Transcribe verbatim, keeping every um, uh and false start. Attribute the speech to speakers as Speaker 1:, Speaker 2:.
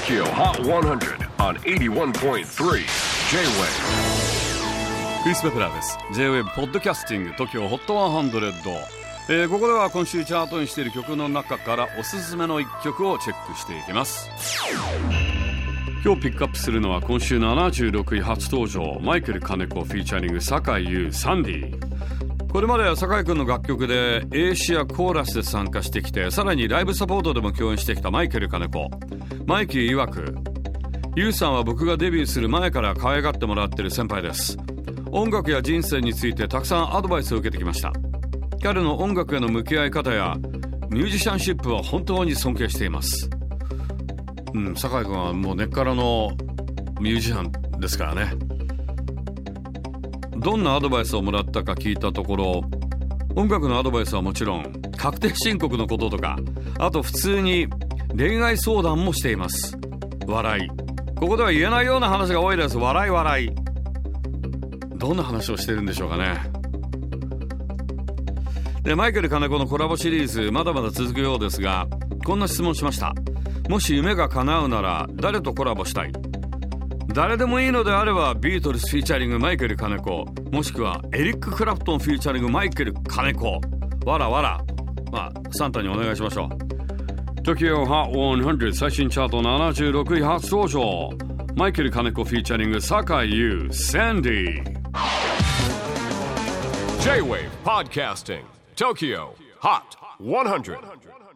Speaker 1: Tokyo Hot one hundred on エイティワンポイントスリー J-Wave。
Speaker 2: クリス・ペプラーです。 J-Wave ポッドキャスティング Tokyo Hot ワンハンドレッド、えー、ここでは今週チャートにしている曲の中からおすすめのいっきょくをチェックしていきます。今日ピックアップするのは今週ななじゅうろくい初登場、マイケル金子フィーチャリング坂井優サンディ。これまでは坂井くんの楽曲でエーシアコーラスで参加してきて、さらにライブサポートでも共演してきたマイケル金子。マイキー曰く、優さんは僕がデビューする前から可愛がってもらってる先輩です。音楽や人生についてたくさんアドバイスを受けてきました。彼の音楽への向き合い方やミュージシャンシップは本当に尊敬しています。うん、坂井君はもう根っからのミュージシャンですからね。どんなアドバイスをもらったか聞いたところ、音楽のアドバイスはもちろん確定申告のこととか、あと普通に恋愛相談もしています。笑い、ここでは言えないような話が多いです。笑い笑い。どんな話をしてるんでしょうかね。で、マイケル金子のコラボシリーズまだまだ続くようですが、こんな質問しました。もし夢が叶うなら誰とコラボしたい？誰でもいいのであればビートルズフィーチャリングマイケル金子、もしくはエリック・クラプトンフィーチャリングマイケル金子。わらわら、まあサンタにお願いしましょう。 Tokyo Hot ハンドレッド最新チャートななじゅうろくい初登場、マイケル金子フィーチャリング坂井優サンディ。
Speaker 1: J-Wave Podcasting Tokyo Hot ハンドレッド